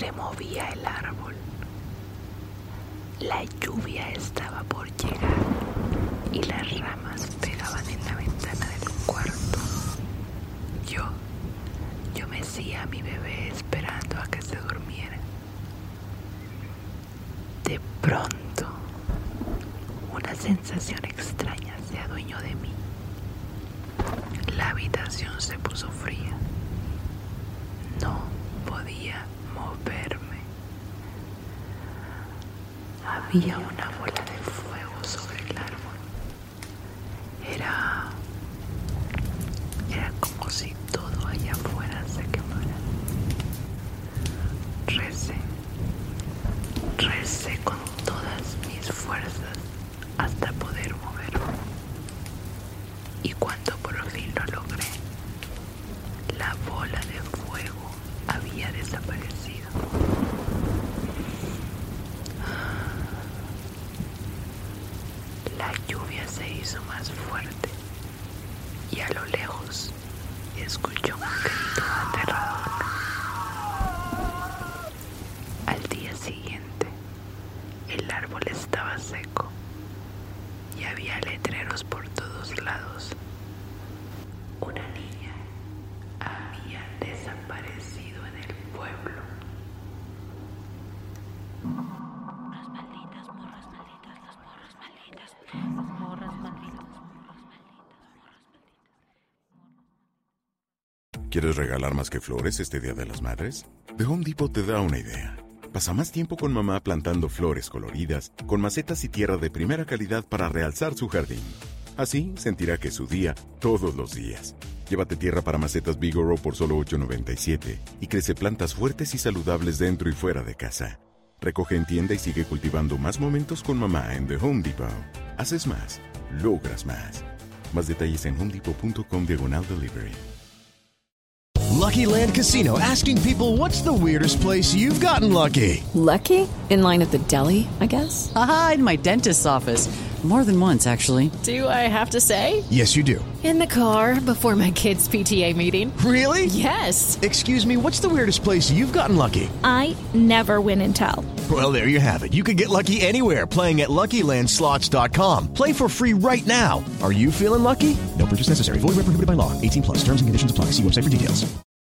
removía el árbol. La lluvia estaba por llegar y las ramas pegaban en la ventana del cuarto. Yo mecía a mi bebé esperando a que se durmiera. De pronto, una sensación extraña se adueñó de mí. La habitación se puso fría. No podía moverme. Había una bola de fuego sobre el árbol. Era como si todo allá afuera se quemara. Recé con todas mis fuerzas hasta poder moverme. Y cuando por fin lo logré, la bola de fuego había desaparecido. La lluvia se hizo más fuerte y a lo lejos escuchó un grito aterrador. Al día siguiente, el árbol estaba seco y había letreros por todos lados. Una niña había desaparecido en el pueblo. Morras malditas, morras malditas, las morras malditas, las morras malditas, morras malditas. ¿Quieres regalar más que flores este Día de las Madres? The Home Depot te da una idea. Pasa más tiempo con mamá plantando flores coloridas, con macetas y tierra de primera calidad para realzar su jardín. Así sentirá que es su día todos los días. Llévate tierra para macetas Vigoro por solo $8.97 y crece plantas fuertes y saludables dentro y fuera de casa. Recoge en tienda y sigue cultivando más momentos con mamá en The Home Depot. Haces más, logras más. Más detalles en homedepot.com/delivery. Lucky Land Casino, asking people, what's the weirdest place you've gotten lucky? Lucky? In line at the deli, I guess? Aha, in my dentist's office. More than once, actually. Do I have to say? Yes, you do. In the car before my kids' PTA meeting. Really? Yes. Excuse me, what's the weirdest place you've gotten lucky? I never win and tell. Well, there you have it. You can get lucky anywhere, playing at LuckyLandSlots.com. Play for free right now. Are you feeling lucky? No purchase necessary. Void where prohibited by law. 18+. Terms and conditions apply. See website for details.